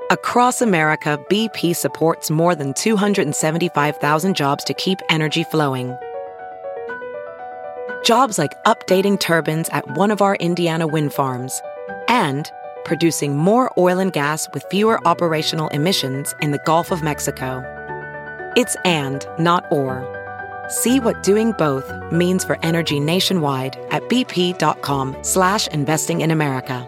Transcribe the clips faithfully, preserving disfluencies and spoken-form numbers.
Across America, B P supports more than two hundred seventy-five thousand jobs to keep energy flowing. Jobs like updating turbines at one of our Indiana wind farms and producing more oil and gas with fewer operational emissions in the Gulf of Mexico. It's and, not or. See what doing both means for energy nationwide at bp.com slash investing in America.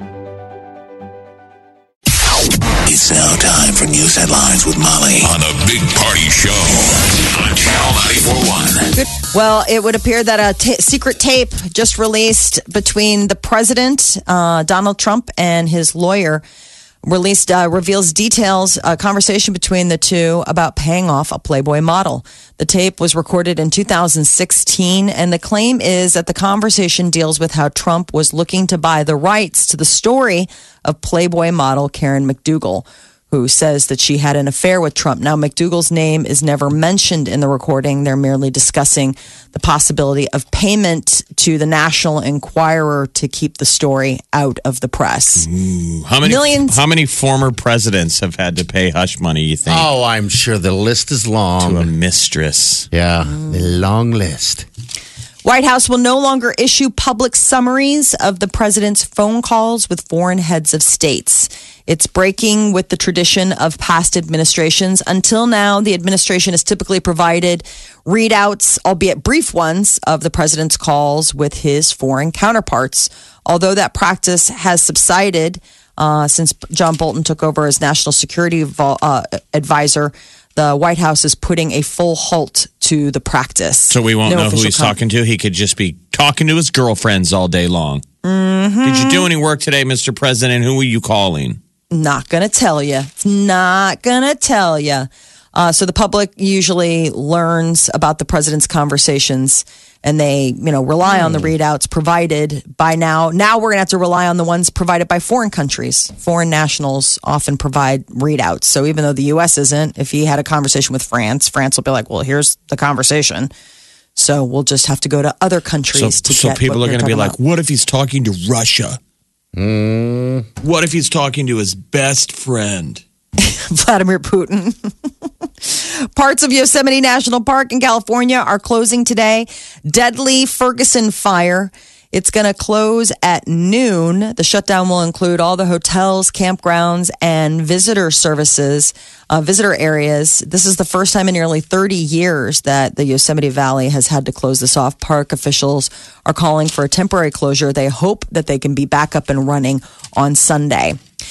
It's now time for news headlines with Molly on the Big Party Show on Channel ninety-four point one. Well, it would appear that a t- secret tape just released between the president, uh, Donald Trump, and his lawyer released uh, reveals details, a conversation between the two about paying off a Playboy model. The tape was recorded in two thousand sixteen, and the claim is that the conversation deals with how Trump was looking to buy the rights to the story of Playboy model Karen McDougal, who says that she had an affair with Trump. Now, McDougal's name is never mentioned in the recording. They're merely discussing the possibility of payment to the National Enquirer to keep the story out of the press. Ooh, how many Millions. How many former presidents have had to pay hush money, you think? Oh, I'm sure the list is long. To a mistress. Yeah, a long list. White House will no longer issue public summaries of the president's phone calls with foreign heads of states. It's breaking with the tradition of past administrations. Until now, the administration has typically provided readouts, albeit brief ones, of the president's calls with his foreign counterparts. Although that practice has subsided uh, since John Bolton took over as national security vo- uh, advisor, the White House is putting a full halt to the practice. So we won't No know who official he's com- talking to. He could just be talking to his girlfriends all day long. Mm-hmm. Did you do any work today, Mister President? Who were you calling? Not going to tell you. It's not going to tell you. Uh, so the public usually learns about the president's conversations, and they, you know, rely on the readouts provided by now. Now we're going to have to rely on the ones provided by foreign countries. Foreign nationals often provide readouts. So even though the U S isn't, if he had a conversation with France, France will be like, well, here's the conversation. So we'll just have to go to other countries So, to so get people what are going to they're be like, talking what if he's talking to Russia? Mm. What if he's talking to his best friend? about. Vladimir Putin. Parts of Yosemite National Park in California are closing today. Deadly Ferguson fire. It's going to close at noon. The shutdown will include all the hotels, campgrounds, and visitor services, uh, visitor areas. This is the first time in nearly thirty years that the Yosemite Valley has had to close this off. Park officials are calling for a temporary closure. They hope that they can be back up and running on Sunday.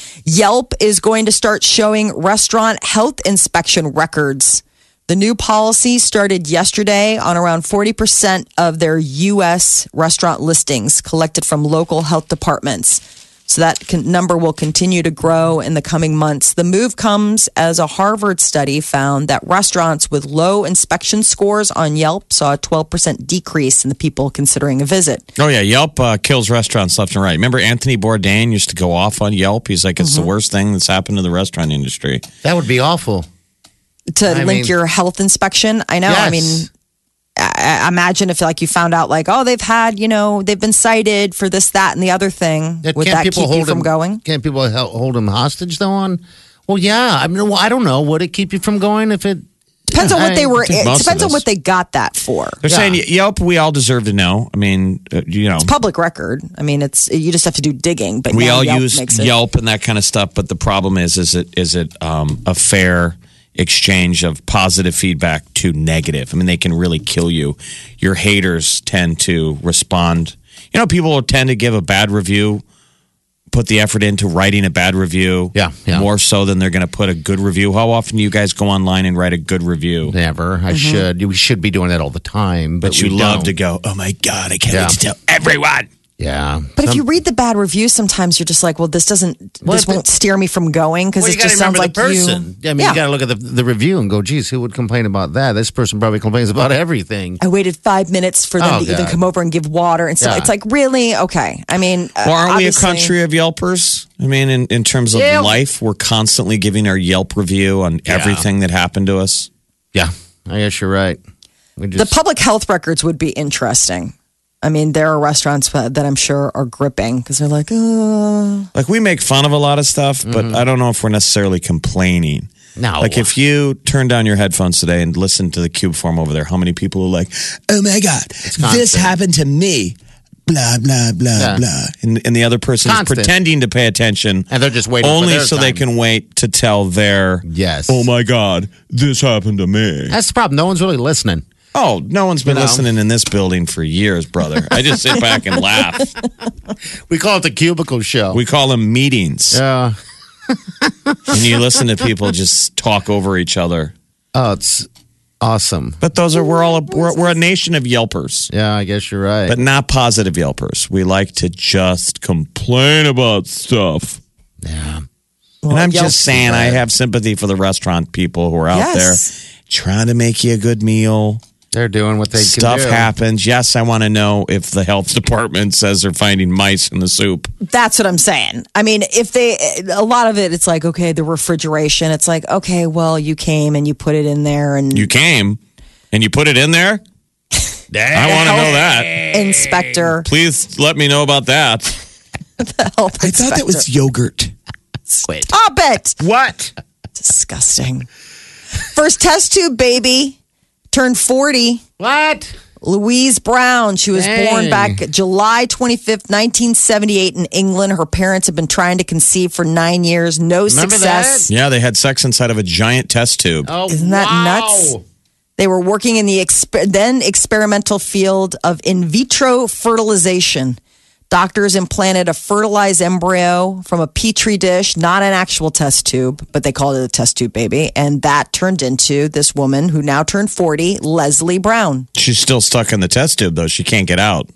Yelp is going to start showing restaurant health inspection records. The new policy started yesterday on around forty percent of their U S restaurant listings collected from local health departments. So that can, number will continue to grow in the coming months. The move comes as a Harvard study found that restaurants with low inspection scores on Yelp saw a twelve percent decrease in the people considering a visit. Oh, yeah. Yelp uh, kills restaurants left and right. Remember Anthony Bourdain used to go off on Yelp? He's like, it's mm-hmm. the worst thing that's happened to the restaurant industry. That would be awful. To I link mean, your health inspection. I know. Yes. I mean, I, I imagine if like you found out like, oh, they've had, you know, they've been cited for this, that, and the other thing. Yeah, Would can't that people keep hold you from him, going? Can't people hel- hold him hostage though? On well, yeah. I mean, well, I don't know. Would it keep you from going if it Depends on what they were. I think It most of depends on us- what they got that for. They're Yeah. saying Yelp, we all deserve to know. I mean, uh, you know. It's public record. I mean, it's you just have to do digging. But we now all Yelp use makes it. Yelp and that kind of stuff, but the problem is, is it is it um, a fair exchange of positive feedback to negative? I mean, they can really kill you. Your haters tend to respond. You know, people will tend to give a bad review, put the effort into writing a bad review, Yeah, yeah. more so than they're going to put a good review. How often do you guys go online and write a good review? Never. I Mm-hmm. should. We should be doing that all the time, but, But you we love don't. to go, oh my God, I can't Yeah. wait to tell everyone. Yeah. But if Some- you read the bad reviews, sometimes you're just like, well, this doesn't. Well, this but- won't steer me from going because well, it you got to just sounds remember like the person. you. I mean, you got to look at the the review and go, geez, who would complain about that? This person probably complains about everything. I waited five minutes for them Oh, to even God. come over and give water and stuff. Yeah. It's like, really? Okay. I mean, uh, Well, aren't we a obviously- country of Yelpers? I mean, in, in terms of Yeah. life, we're constantly giving our Yelp review on Yeah. everything that happened to us. Yeah, I guess you're right. We The just, public health records would be interesting. I mean, there are restaurants that I'm sure are gripping because they're like, oh. Like, we make fun of a lot of stuff, but Mm-hmm. I don't know if we're necessarily complaining. No. Like, if you turn down your headphones today and listen to the Cube Forum over there, how many people are like, oh my God, this constant. happened to me. Blah, blah, blah, Yeah. blah. And, and the other person is Constant. pretending to pay attention. And they're just waiting for only their so they time. can wait to tell their, Yes. oh my God, this happened to me. That's the problem. No one's really listening. Oh, no one's been You know. listening in this building for years, brother. I just sit back and laugh. We call it the cubicle show. We call them meetings. yeah. And you listen to people just talk over each other. Oh, it's awesome. But those are, we're all, a, we're, we're a nation of Yelpers, Yeah, I guess you're right. but not positive Yelpers. We like to just complain about stuff. yeah. And I'm Yelp- just saying, I have sympathy for the restaurant people who are out Yes. there trying to make you a good meal. They're doing what they Stuff can do. happens. Yes, I want to know if the health department says they're finding mice in the soup. That's what I'm saying. I mean, if they, a lot of it, it's like, okay, the refrigeration. It's like, okay, well, you came and you put it in there and You came and you put it in there? I want to know that. inspector. Please let me know about that. Health I thought that was yogurt. Wait. Stop it. What? Disgusting. First test tube baby turned forty. What? Louise Brown. She was Dang. born back July twenty-fifth, nineteen seventy-eight in England. Her parents have been trying to conceive for nine years. No Remember success. Yeah, they had sex inside of a giant test tube. Oh, Isn't that wow. nuts? They were working in the exper- then experimental field of in vitro fertilization. Doctors implanted a fertilized embryo from a petri dish, not an actual test tube, but they called it a test tube baby. And that turned into this woman who now turned forty, Leslie Brown. She's still stuck in the test tube, though. She can't get out.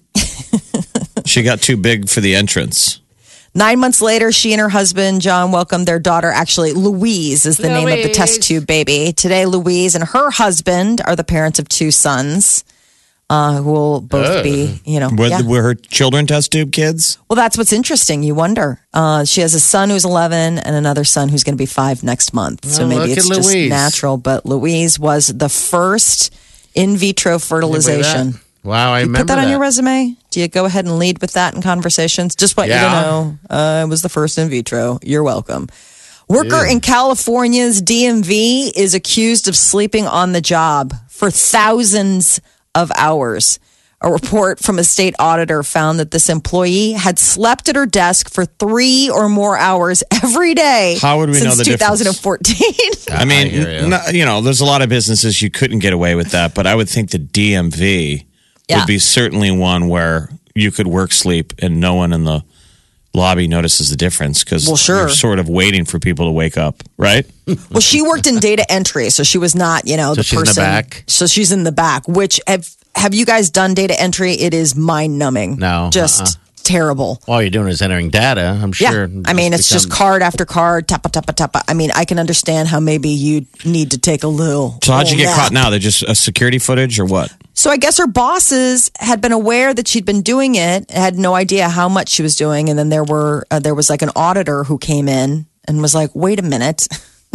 She got too big for the entrance. Nine months later, she and her husband, John, welcomed their daughter. Actually, Louise is the name of the test tube baby. Today, Louise and her husband are the parents of two sons. Uh, who will both be, you know, Were, yeah. were her children test tube kids? Well, that's what's interesting. You wonder. Uh, she has a son who's eleven and another son who's going to be five next month. So Oh, maybe look it's at just Louise. natural. But Louise was the first in vitro fertilization. Wow, I You remember put that, on your resume? Do you go ahead and lead with that in conversations? Just want you Yeah. to know, uh, I was the first in vitro. You're welcome. Worker in California's D M V is accused of sleeping on the job for thousands of hours. A report from a state auditor found that this employee had slept at her desk for three or more hours every day. How would we know since the difference? twenty fourteen. I mean, I hear you. n- you know, there's a lot of businesses you couldn't get away with that, but I would think the D M V Yeah. would be certainly one where you could work sleep and no one in the lobby notices the difference because Well, sure. you're sort of waiting for people to wake up, right? Well, she worked in data entry, so she was not, you know, So the she's in the person. back? So she's in the back. Which have have you guys done data entry? It is mind numbing. No, just uh-uh. terrible. All you're doing is entering data, I'm Yeah, sure. I mean, it's just become- card after card, tappa tappa tappa. I mean, I can understand how maybe you need to take a little. So how'd you little get caught nap. now? They're just a security footage or what? So I guess her bosses had been aware that she'd been doing it, had no idea how much she was doing, and then there were uh, there was like an auditor who came in and was like, "Wait a minute,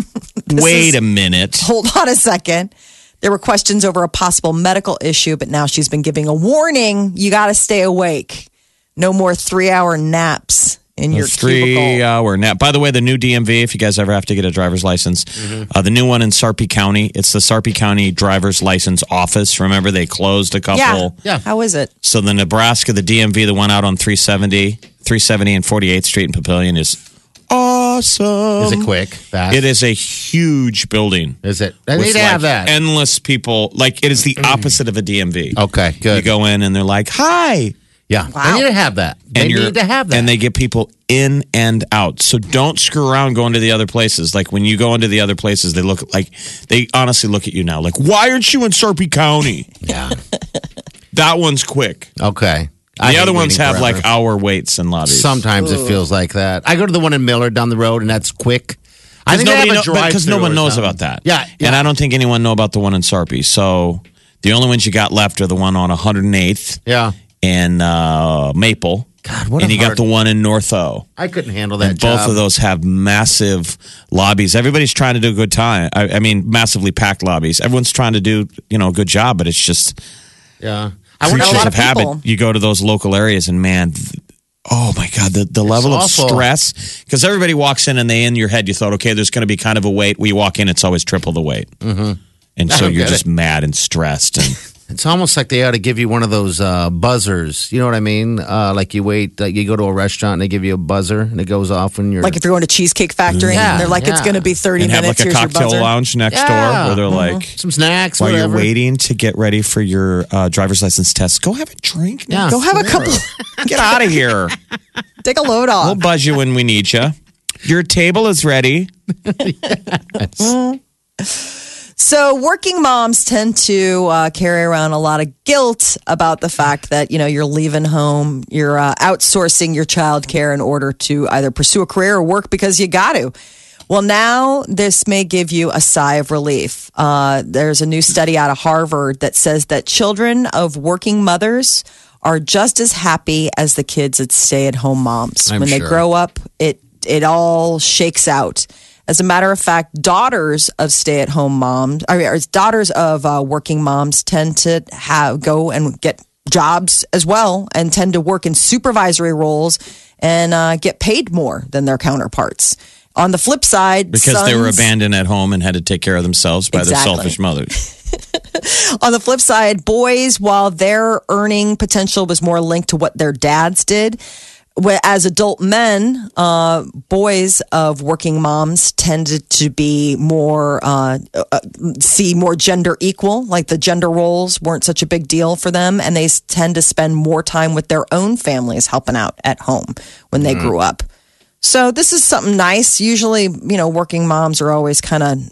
Wait is- a minute. hold on a second." There were questions over a possible medical issue, but now she's been giving a warning. You got to stay awake. No more three hour naps in your Three cubicle. hour nap. By the way, the new D M V, if you guys ever have to get a driver's license, Mm-hmm. uh, the new one in Sarpy County, it's the Sarpy County Driver's License Office. Remember, they closed a couple. Yeah. Yeah. How is it? So the Nebraska, the D M V, the one out on three seventy, three seventy and forty-eighth Street in Papillion is awesome. Is it quick? Fast? It is a huge building. Is it? I with need to like have that. endless people. Like it is the opposite of a D M V. Okay, good. You go in and they're like, "Hi," Yeah, I need to have that. They and you're need to have that. and they get people in and out. So don't screw around going to the other places. Like when you go into the other places, they look like they honestly look at you now. Like, why aren't you in Sarpy County? yeah. That one's quick. Okay. The I hate other ones waiting have forever. like hour waits in lobbies. Sometimes it feels like that. I go to the one in Miller down the road, and that's quick. I think they have a Because drive-through no one or knows something. about that. Yeah, yeah. And I don't think anyone know about the one in Sarpy. So the only ones you got left are the one on one hundred eighth Yeah. and uh, Maple. God, what and a you got hard- the one in North O. I couldn't handle that And job. both of those have massive lobbies. Everybody's trying to do a good time. I, I mean, massively packed lobbies. Everyone's trying to do, you know, a good job, but it's just Yeah. I wonder a creatures lot of of people. habit. You go to those local areas, and man, th- oh my god, the, the level of awful. stress. Because everybody walks in, and they in your head, you thought, okay, there's going to be kind of a wait. When you walk in, it's always triple the wait, mm-hmm. and I so don't you're get just it. mad and stressed. And It's almost like they ought to give you one of those uh, buzzers. You know what I mean? Uh, like you wait, like you go to a restaurant and they give you a buzzer and it goes off when you're Like if you're going to Cheesecake Factory Yeah, and they're like, it's yeah. going to be thirty and have minutes. like a Here's your cocktail buzzer. lounge next Yeah. door where they're Mm-hmm. like, some snacks. while whatever. you're waiting to get ready for your uh, driver's license test, go have a drink. Yeah. Go have a couple. Get out of here. Take a load We'll off. buzz you when we need you. Your table is ready. So working moms tend to uh, carry around a lot of guilt about the fact that, you know, you're leaving home, you're uh, outsourcing your child care in order to either pursue a career or work because you got to. Well, now this may give you a sigh of relief. Uh, there's a new study out of Harvard that says that children of working mothers are just as happy as the kids at stay-at-home moms. I'm when they sure. grow up, it it all shakes out. As a matter of fact, daughters of stay-at-home moms, or or daughters of uh, working moms, tend to have go and get jobs as well, and tend to work in supervisory roles and uh, get paid more than their counterparts. On the flip side, Because they were sons- abandoned at home and had to take care of themselves by Exactly. their selfish mothers. On the flip side, boys, while their earning potential was more linked to what their dads did, wh- as adult men, uh, boys of working moms tended to be more, uh, uh, see more gender equal, like the gender roles weren't such a big deal for them. And they s- tend to spend more time with their own families helping out at home when they grew up. So this is something nice. Usually, you know, working moms are always kind of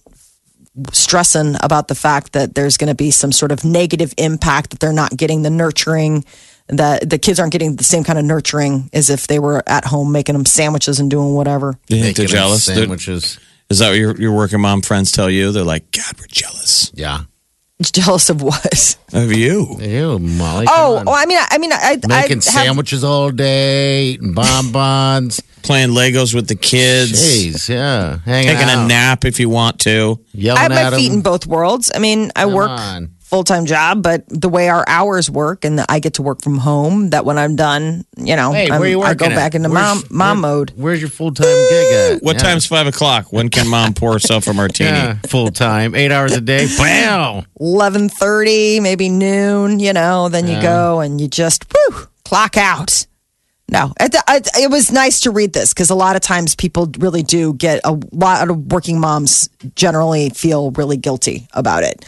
stressing about the fact that there's going to be some sort of negative impact, that they're not getting the nurturing, that the kids aren't getting the same kind of nurturing as if they were at home making them sandwiches and doing whatever. Do you think they're Making them jealous? They're- Sandwiches. Is that what your, your working mom friends tell you? They're like, God, we're jealous Yeah. Jealous of what? of you. Ew, Molly. Oh, come well, on. I mean, I, I mean, I, Making I have, sandwiches all day, eating bonbons. Playing Legos with the kids. Jeez, yeah. Hanging Taking out. a nap if you want to. Yelling I have at my feet them. in both worlds. I mean, I Come work on. full time job, but the way our hours work, and I get to work from home. That when I'm done, you know, Hey, I'm, where you I working go at? back into Where's- mom mom where- mode. Where's your full time gig at? What Yeah. time's five o'clock? When can mom pour herself a martini? Yeah, full time, eight hours a day. Bam. eleven thirty, maybe noon, you know, then you go and you just whew, clock out. No, it, it, it was nice to read this because a lot of times people really do get, a lot of working moms generally feel really guilty about it.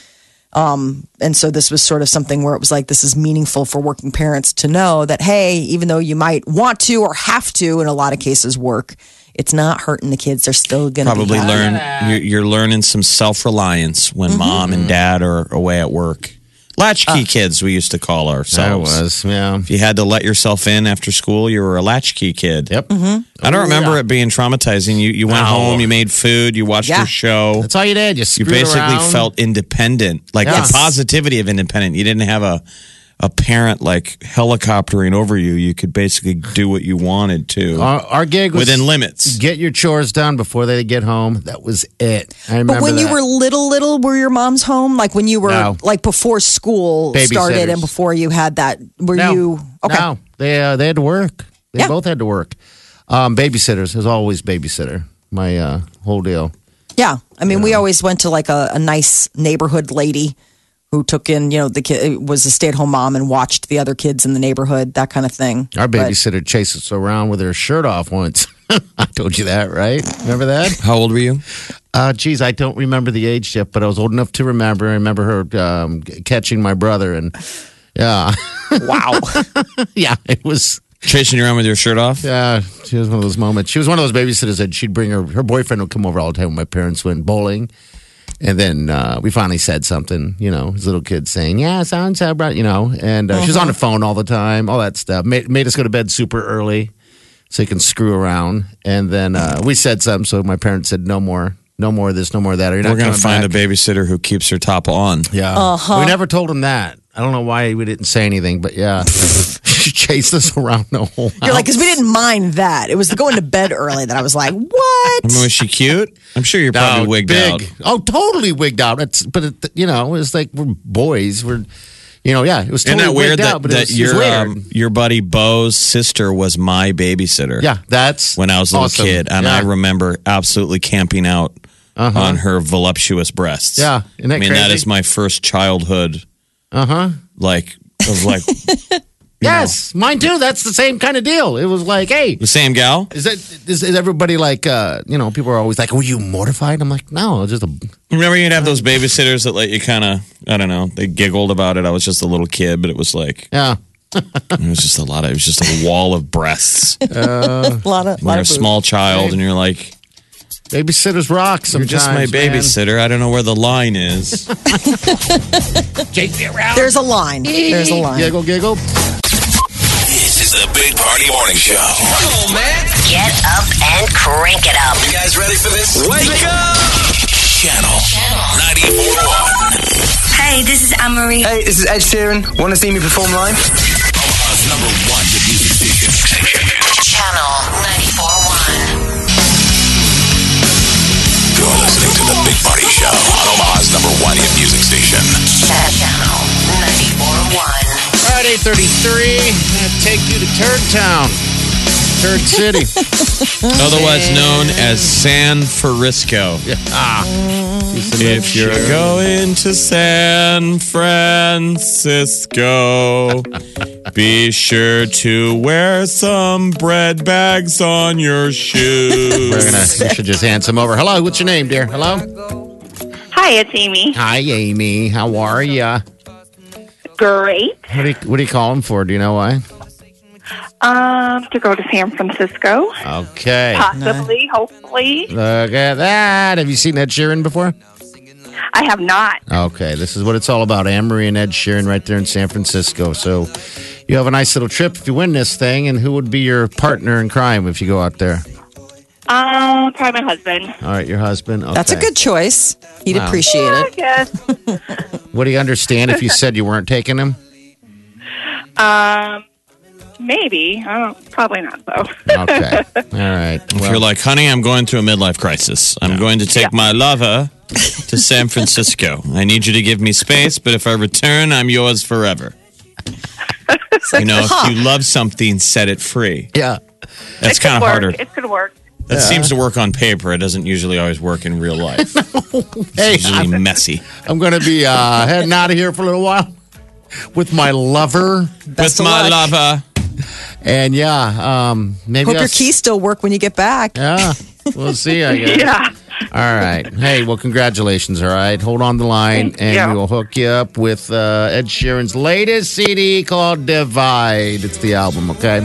Um, and so this was sort of something where it was like, this is meaningful for working parents to know that, hey, even though you might want to or have to, in a lot of cases, work, it's not hurting the kids. They're still going to Probably be learn. You're, you're learning some self reliance when Mm-hmm. mom and dad are away at work. Latchkey Uh, kids, we used to call That ourselves. was, yeah. If you had to let yourself in after school, you were a latchkey kid. Yep. Mm-hmm. I don't Oh, remember yeah. it being traumatizing. You you went No. home, you made food, you watched Yeah. your show. That's all you did. You, You screwed basically around. felt independent, like Yes. the positivity of independent. You didn't have a a parent like helicoptering over you. You could basically do what you wanted to Our, our gig was within limits. Get your chores done before they get home. That was it. I remember But when you that. were little, little, were your moms home? Like when you were, No. like before school started and Babysitters. before you had that, were no, you, okay. No, they uh, they had to work. They Yeah. both had to work. Um, babysitters. There's always babysitter. My uh, whole deal. Yeah. I mean, we always went to like a, a nice neighborhood lady who took in, you know, the kid was a stay at home mom and watched the other kids in the neighborhood, that kind of thing. Our But- babysitter chased us around with her shirt off once. I told you that, right? Remember that? How old were you? Uh, geez, I don't remember the age yet, but I was old enough to remember. I remember her um, catching my brother, and yeah, Wow. yeah, it was. Chasing you around with your shirt off? Yeah, she was one of those moments. She was one of those babysitters that she'd bring her. Her boyfriend would come over all the time when my parents went bowling. And then uh, we finally said something, you know, his little kid saying, yeah, so and so brought, you know, and uh, she's on the phone all the time, all that stuff. Made, made us go to bed super early so he can screw around. And then uh, we said something, so my parents said, no more, no more of this, no more of that. Or you're We're not going to coming find back. a babysitter who keeps her top on. Yeah. Uh-huh. We never told him that. I don't know why we didn't say anything, but yeah. She chased us around the whole house. You're like, because we didn't mind that. It was the going to bed early that I was like, what? I mean, was she cute? I'm sure you're probably No, wigged big. out. Oh, totally wigged out. It's, but, it, you know, it's like we're boys. We're, You know, yeah, it was Isn't totally that weird wigged that, out, but it that was, it was your weird. um, your buddy Bo's sister was my babysitter? Yeah, that's when I was a little awesome. kid, and Yeah. I remember absolutely camping out Uh-huh. on her voluptuous breasts. Yeah, isn't that I mean that crazy? is my first childhood. Uh huh. Like of like Yes, mine too. That's the same kind of deal. It was like, hey, the same gal. is that is, is everybody like, uh, you know, people are always like, were you mortified? I'm like, no, it's just a. Remember you'd have those babysitters that let you kind of I don't know. They giggled about it. I was just a little kid, but it was like Yeah. it was just a lot of it was just a wall of breasts. a lot of, When lot you're a of boobs. small child and you're like, Babysitters rock you're sometimes. just my man. babysitter. I don't know where the line is. Chase me around. There's a line. There's a line. Giggle, giggle. This is the Big Party Morning Show. Come on, man. Get up and crank it up. You guys ready for this? Wake up! Channel ninety-four point one. Hey, this is Anne-Marie. Hey, this is Ed Sheeran. Want to see me perform live? Omaha's number one hit music station. Channel ninety-four point one. You're listening to the Big Party Show on Omaha's number one hit music station. Channel ninety-four point one. All right, eight thirty-three. Gonna take you to Turd Town. Turd City. Otherwise known as San Francisco. Ah. If you're going to San Francisco, be sure to wear some bread bags on your We're shoes. gonna, we should just hand some over. Hello, what's your name, dear? Hello? Hi, it's Amy. Hi, Amy. How are ya? Great. What do you, what do you call him for? Do you know why? Um, to go to San Francisco, Okay. possibly, hopefully. Look at that. Have you seen Ed Sheeran before? I have not. Okay, this is what it's all about. Anne-Marie and Ed Sheeran right there in San Francisco. So you have a nice little trip if you win this thing. And who would be your partner in crime if you go out there? Um, probably my husband. All right, your husband. Okay. That's a good choice. He'd Wow. appreciate I it. guess. Would he understand if you said you weren't taking him? Um, maybe. I don't. Probably not though. Okay. All right. If you're like, honey, I'm going through a midlife crisis. I'm going to take Yeah. my lover to San Francisco. I need you to give me space, but if I return, I'm yours forever. You know, if you love something, set it free. Yeah. That's It could kind of work. harder. It could work. That seems to work on paper. It doesn't usually always work in real life. Hey, It's usually messy. I'm going to be uh, heading out of here for a little while with my lover. Best With of my luck. lover. And yeah, um, maybe Hope I'll your s- keys still work when you get back. Yeah, we'll see. I guess. Yeah. All right. Hey, well, congratulations. All right, hold on the line, Thank and you. we will hook you up with uh, Ed Sheeran's latest C D called Divide. It's the album. Okay.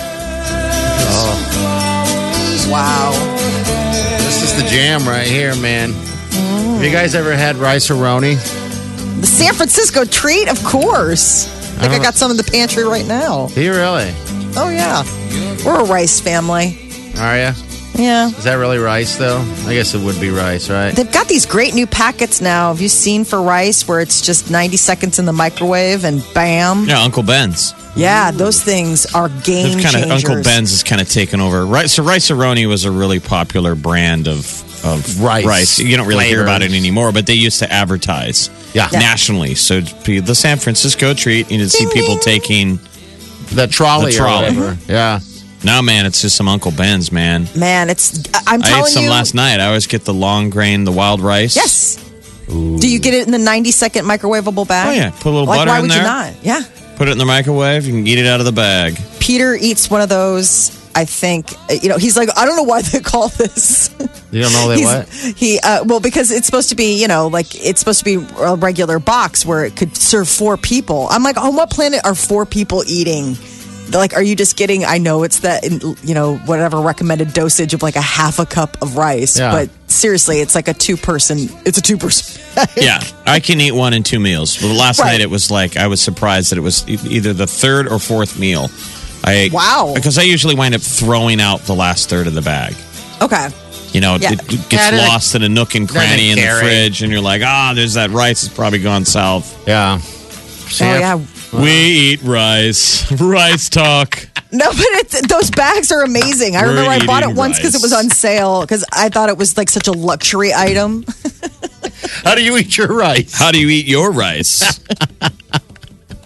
Wow. This is the jam right here, man. Have you guys ever had rice roni? The San Francisco treat, of course. I think I, got some in the pantry right now. Do you really? Oh, yeah. We're a rice family. Are you? Yeah. Is that really rice, though? I guess it would be rice, right? They've got these great new packets now. Have you seen for rice where it's just ninety seconds in the microwave and bam? Yeah, Uncle Ben's. Yeah, those things are game They've kind of changers. Uncle Ben's has kind of taken over. Right, so Rice-A-Roni was a really popular brand of of Rice. You don't really hear Flavors. about it anymore, but they used to advertise Yeah. Yeah. nationally. So it'd be the San Francisco treat. You would see people taking. The trolley, The trolley. or whatever. Yeah. No, man, it's just some Uncle Ben's, man. Man, it's. I- I'm I telling ate some you. last night. I always get the long grain, the wild rice. Yes. Do you get it in the ninety second microwavable bag? Oh, yeah. Put a little like, butter why in would there. you not? Yeah. Put it in the microwave. You can eat it out of the bag. Peter eats one of those. I think you know. He's like, I don't know why they call this. You don't know they He's- what? He uh, well because it's supposed to be you know like it's supposed to be a regular box where it could serve four people. I'm like, on what planet are four people eating? They're like, are you just getting? I know it's that you know whatever recommended dosage of like a half a cup of rice, Yeah. but seriously, it's like a two person. It's a two person. Yeah, I can eat one in two meals. But last Right. night it was like I was surprised that it was e- either the third or fourth meal. I ate, Wow. because I usually wind up throwing out the last third of the bag. Okay. You know, Yeah. it, it gets Yeah, they're lost in a nook and cranny in the carry. fridge, and you're like, ah, there's that rice. It's probably gone south. Yeah. Oh yeah. We eat rice. Rice talk. No, but it's, those bags are amazing. I We're remember I bought it eating once because it was rice. on sale because I thought it was like such a luxury item. How do you eat your rice? How do you eat your rice?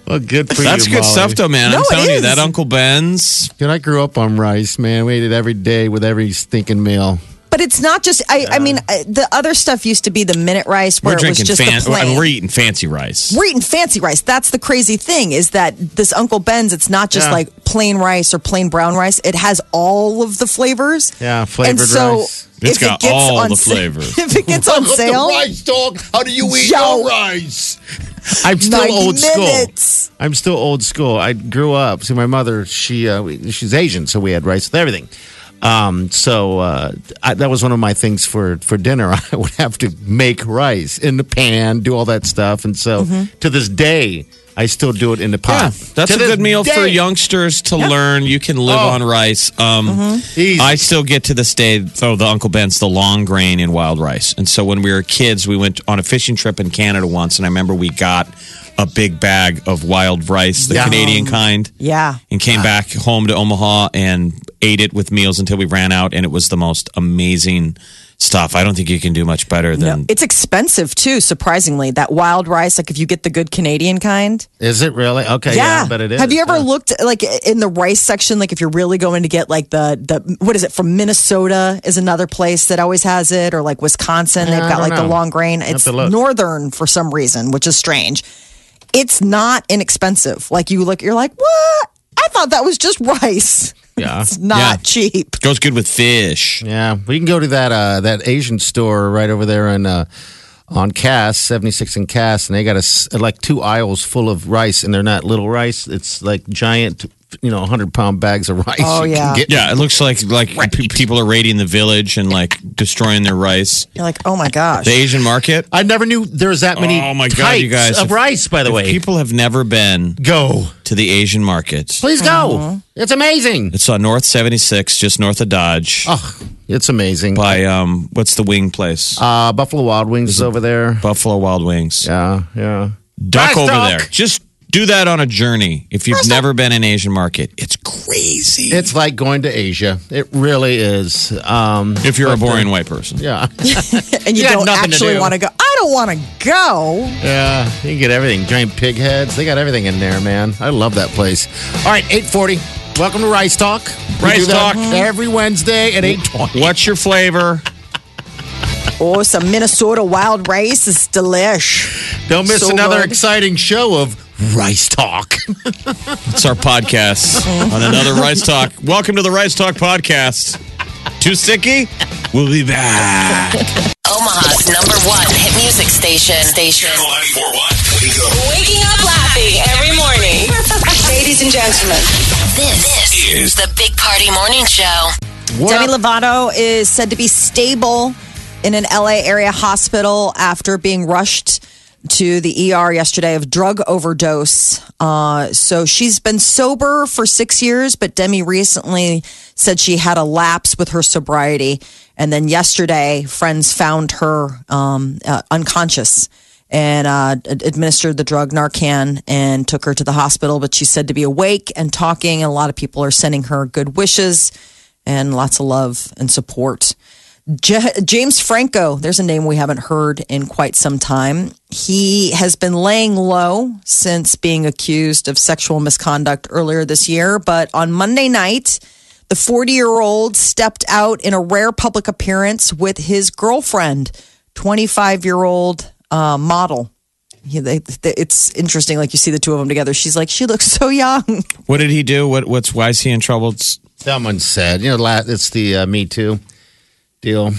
Well, good for That's you, good Molly. stuff, though, man. No, I'm it telling you, is. that Uncle Ben's. Dude, I grew up on rice, man. We ate it every day with every stinking meal. But it's not just. I, I mean, uh, the other stuff used to be the minute rice, where We're it was drinking just fan- the plain. I mean, we're eating fancy rice. We're eating fancy rice. That's the crazy thing is that this Uncle Ben's, it's not just Yeah. like plain rice or plain brown rice. It has all of the flavors. Yeah, flavored and so rice. It's if it got gets all on the sa- flavors. If it gets on sale, rice, dog. How do you eat Yo. your rice? I'm still ninety old minutes. school. I'm still old school. I grew up. See, my mother, she uh, we- she's Asian, so we had rice with everything. Um, so uh, I, that was one of my things for for dinner. I would have to make rice in the pan, do all that stuff, and so to this day, I still do it in the Yeah, pot. that's To a this good meal for day. youngsters to learn. You can live Oh. on rice. Um, Easy. I still get to this day, though, the Uncle Ben's, the long grain in wild rice. And so when we were kids, we went on a fishing trip in Canada once, and I remember we got a big bag of wild rice, the Yum. Canadian kind. yeah. And came back home to Omaha and ate it with meals until we ran out, and it was the most amazing stuff. I don't think you can do much better than. No, it's expensive too. Surprisingly, that wild rice, like if you get the good Canadian kind. Is it really? Okay, yeah, but it is. Have you ever yeah. looked like in the rice section? Like if you're really going to get like the the what is it from Minnesota is another place that always has it, or like Wisconsin, Yeah, they've I got don't like the know. long grain. Have It's to look. northern for some reason, which is strange. It's not inexpensive. Like you look, you're like, what? I thought that was just rice. Yeah. It's not Yeah. cheap. Goes good with fish. Yeah, we can go to that uh, that Asian store right over there in uh, on Cass, seventy-six and Cass, and they got a s like two aisles full of rice, and they're not little rice; it's like giant, you know, hundred pound bags of rice. Oh, you yeah. can get. Yeah, it looks like like pe- people are raiding the village and like destroying their rice. You're like, oh my gosh. The Asian market. I never knew there was that many. Oh my God, types you guys. of If- rice. By the If way, people have never been go to the Asian market, please go. It's amazing. it's on North seventy-six, just north of Dodge. Oh, it's amazing. By um, what's the wing place? Uh, Buffalo Wild Wings is over there. Buffalo Wild Wings. Yeah, yeah. Duck Rice over duck. there. Just do that on a journey. If you've never been in Asian market, it's crazy. It's like going to Asia. It really is. Um, if you're a but, uh, boring white person. Yeah. and you You got don't nothing to actually do. want to go. I don't want to go. Yeah, you can get everything. Giant pig heads. They got everything in there, man. I love that place. All right, eight forty. Welcome to Rice Talk. We Rice do that Talk. every Wednesday at eight twenty. What's your flavor? Oh, some Minnesota wild rice is delish. Don't miss So another good. exciting show of Rice Talk. It's our podcast on another Rice Talk. Welcome to the Rice Talk podcast. Too sicky? We'll be back. Omaha's number one hit music station. Station. Channel ninety-four point one. Wake up. Waking up laughing every morning. Ladies and gentlemen, This, this is the Big Party Morning Show. What Demi up? Lovato is said to be stable in an L A area hospital after being rushed to the E R yesterday of drug overdose. Uh, so she's been sober for six years, but Demi recently said she had a lapse with her sobriety. And then yesterday, friends found her um, uh, unconscious and uh, ad- administered the drug Narcan and took her to the hospital. But she's said to be awake and talking. And a lot of people are sending her good wishes and lots of love and support. J- James Franco, there's a name we haven't heard in quite some time. He has been laying low since being accused of sexual misconduct earlier this year. But on Monday night, the forty-year-old stepped out in a rare public appearance with his girlfriend, twenty-five-year-old uh, model. He, they, they, it's interesting, like you see the two of them together. She's like, she looks so young. What did he do? What? What's? Why is he in trouble? It's, Someone said, you know, la- it's the uh, Me Too deal.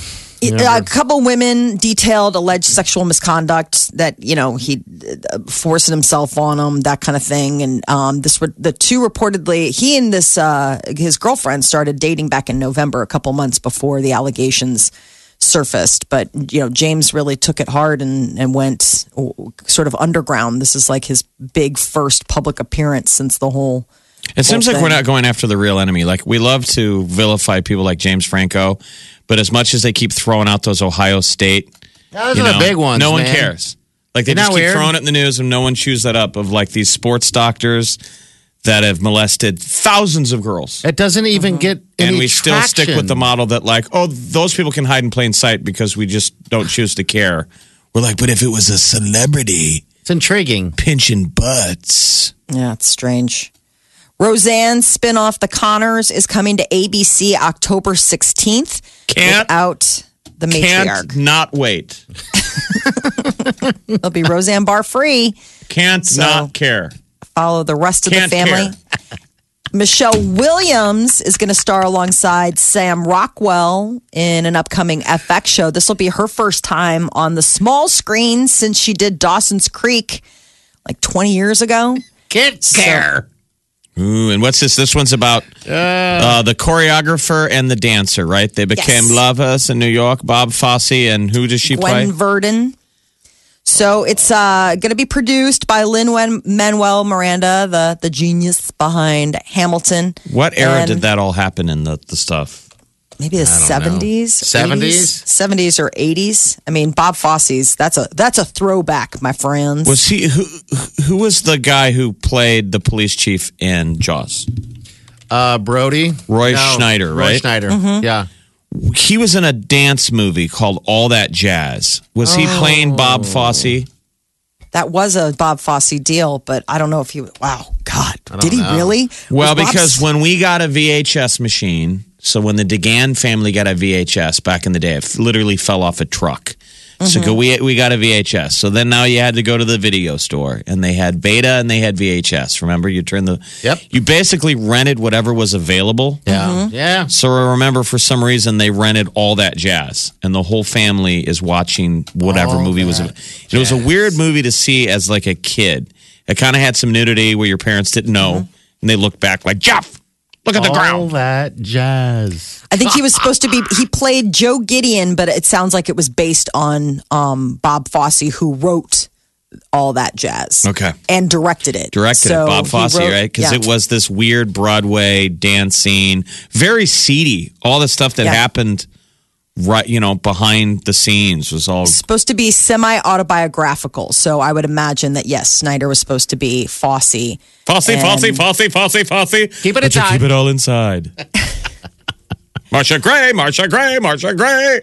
A couple women detailed alleged sexual misconduct that you know he uh, forcing himself on them, that kind of thing. And um, this were the two reportedly. He and this uh, his girlfriend started dating back in November, a couple months before the allegations surfaced. But you know, James really took it hard and and went sort of underground. This is like his big first public appearance since the whole. it seems whole like we're thing. not going after the real enemy. Like we love to vilify people like James Franco, but as much as they keep throwing out those Ohio State, Those you are the know, big ones. no one man. cares. Like they Isn't just that keep weird? throwing it in the news, and no one chews that up. Of like these sports doctors that have molested thousands of girls. It doesn't even get any And we still stick with the traction. model that, like, oh, those people can hide in plain sight because we just don't choose to care. We're like, but if it was a celebrity It's intriguing. pinching butts, Yeah, it's strange. Roseanne's spinoff, The Connors, is coming to A B C October sixteenth. Can't without the matriarch. Can't not wait. It'll be Roseanne Barr free. Can't So- not care. Follow the rest of Can't the family. care. Michelle Williams is going to star alongside Sam Rockwell in an upcoming F X show. This will be her first time on the small screen since she did Dawson's Creek like twenty years ago. Can't care. Ooh, and what's this? This one's about uh, the choreographer and the dancer, right? They became Yes. lovers in New York. Bob Fosse, and who does she Gwen play? Verdon. So it's uh, going to be produced by Lin-Manuel Miranda, the the genius behind Hamilton. What era And did that all happen in the, the stuff? Maybe the seventies, seventies? seventies or eighties. I mean, Bob Fosse's that's a that's a throwback, my friends. Was he who? Who was the guy who played the police chief in Jaws? Uh, Brody? Roy No, Schneider, Roy right? Schneider, Mm-hmm. yeah. He was in a dance movie called All That Jazz. Was he playing Bob Fosse? That was a Bob Fosse deal, but I don't know if he. Wow, God, did he know. really? Well, Was Bob because S- when we got a V H S machine, so when the DeGan family got a V H S back in the day, it f- literally fell off a truck. So Mm-hmm. go, we we got a V H S. So then now you had to go to the video store, and they had Beta and they had V H S. Remember, you turn the Yep. You basically rented whatever was available. Yeah. Mm-hmm. Yeah. So I remember for some reason they rented All That Jazz, and the whole family is watching whatever All movie was. That It was a weird movie to see as like a kid. It kind of had some nudity where your parents didn't know, Mm-hmm. and they looked back like Jeff. Look at the All ground. that jazz. I think he was supposed to be. He played Joe Gideon, but it sounds like it was based on um, Bob Fosse, who wrote all that jazz. Okay. and directed it. Directed So it, Bob he Fosse, wrote- right? Because yeah. it was this weird Broadway dance scene, very seedy. All the stuff that Yeah. happened, right? You know, behind the scenes was all. supposed to be semi autobiographical. So I would imagine that yes, Snyder was supposed to be Fosse. Fosse, And- Fosse, Fosse, Fosse, Fosse. Keep it But you inside. keep it all inside. Marcia Gray, Marcia Gray, Marcia Gray.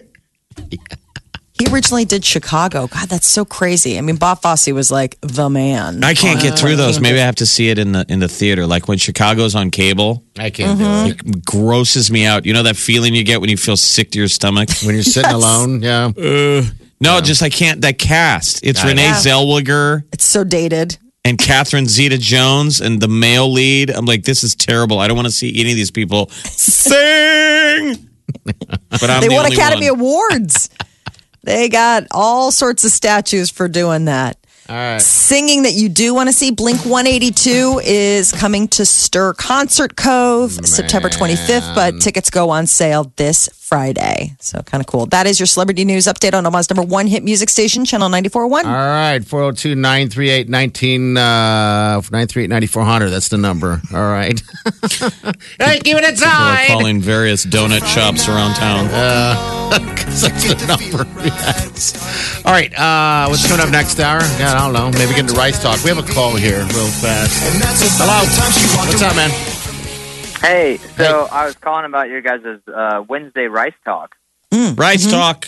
He originally did Chicago. God, that's so crazy. I mean, Bob Fosse was like the man. I can't get through those. Maybe I have to see it in the in the theater. Like when Chicago's on cable, I can't Mm-hmm. do it. it grosses me out. You know that feeling you get when you feel sick to your stomach? When you're sitting alone, yeah. No, just I can't. That cast. It's I Renee know. Zellweger It's so dated. and Catherine Zeta-Jones and the male lead. I'm like, this is terrible. I don't want to see any of these people sing. But I'm They the won only Academy one. Awards. They got all sorts of statues for doing that. All right. Singing that you do want to see, Blink one eighty-two is coming to Stir Concert Cove September twenty-fifth, but tickets go on sale this Friday. So kind of cool. That is your celebrity news update on Omaha's number one hit music station, Channel ninety-four point one. All right, four oh two, nine three eight, nineteen, uh, nine three eight, ninety-four hundred. That's the number. All right. Hey, keep it People are inside. calling various donut shops around town. That's the number. Yes. All right, uh, what's coming up next hour? Yeah, I don't know. Maybe get into Rice Talk. We have a call here real fast. Hello. What's up, man? Hey, so I was calling about your guys' uh, Wednesday Rice Talk. Rice Talk.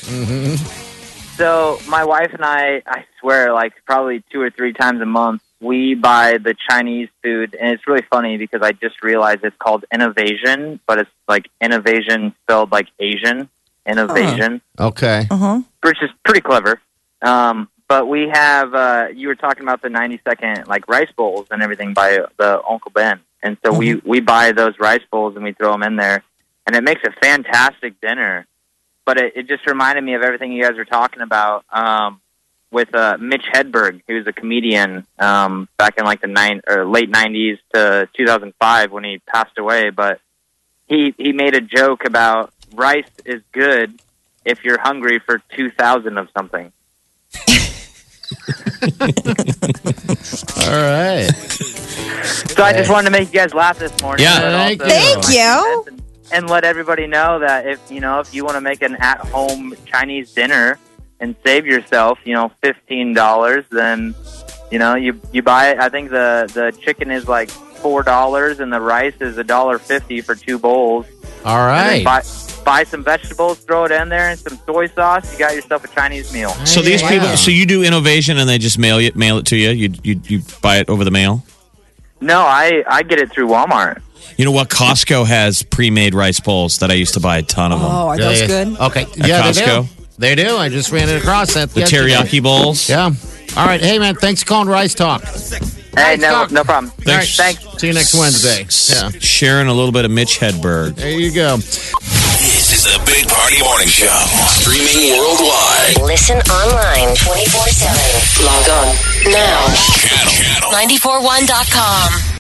So my wife and I, I swear, like probably two or three times a month, we buy the Chinese food, and it's really funny because I just realized it's called Innovation, but it's like Innovation spelled like Asian. Innovation, Okay. which is pretty clever. Um, but we have, uh, you were talking about the ninety second like rice bowls and everything by the Uncle Ben. And so we, we buy those rice bowls and we throw them in there, and it makes a fantastic dinner. But it, it just reminded me of everything you guys were talking about um, with uh, Mitch Hedberg, who was a comedian um, back in like the nine or late nineties to two thousand five when he passed away. But he he made a joke about rice is good if you're hungry for two thousand of something. All right. So I just wanted to make you guys laugh this morning. Yeah. but Thank also- you. Thank you. And, and let everybody know that if you know if you want to make an at-home Chinese dinner and save yourself, you know, fifteen dollars, then you know you you buy it. I think the the chicken is like four dollars and the rice is a dollar fifty for two bowls. All And right. then buy, buy some vegetables, throw it in there, and some soy sauce. You got yourself a Chinese meal. So these Wow. people, so you do innovation and they just mail it, mail it to you. You you you buy it over the mail. No, I, I get it through Walmart. You know what? Costco has pre-made rice bowls that I used to buy a ton of them. Oh, are Yeah, those yeah. good? Okay. At yeah, Costco? They do. They do. I just ran it across that. The yesterday. teriyaki bowls. Yeah. All right. Hey, man. Thanks for calling Rice Talk. Hey, Rice no, Talk. no problem. All right. Thanks. Thanks. See you next Wednesday. Yeah. Sharing a little bit of Mitch Hedberg. There you go. This is the Big Party Morning Show. Streaming worldwide. Listen online twenty-four seven. Log on now. Channel. nine four one dot com.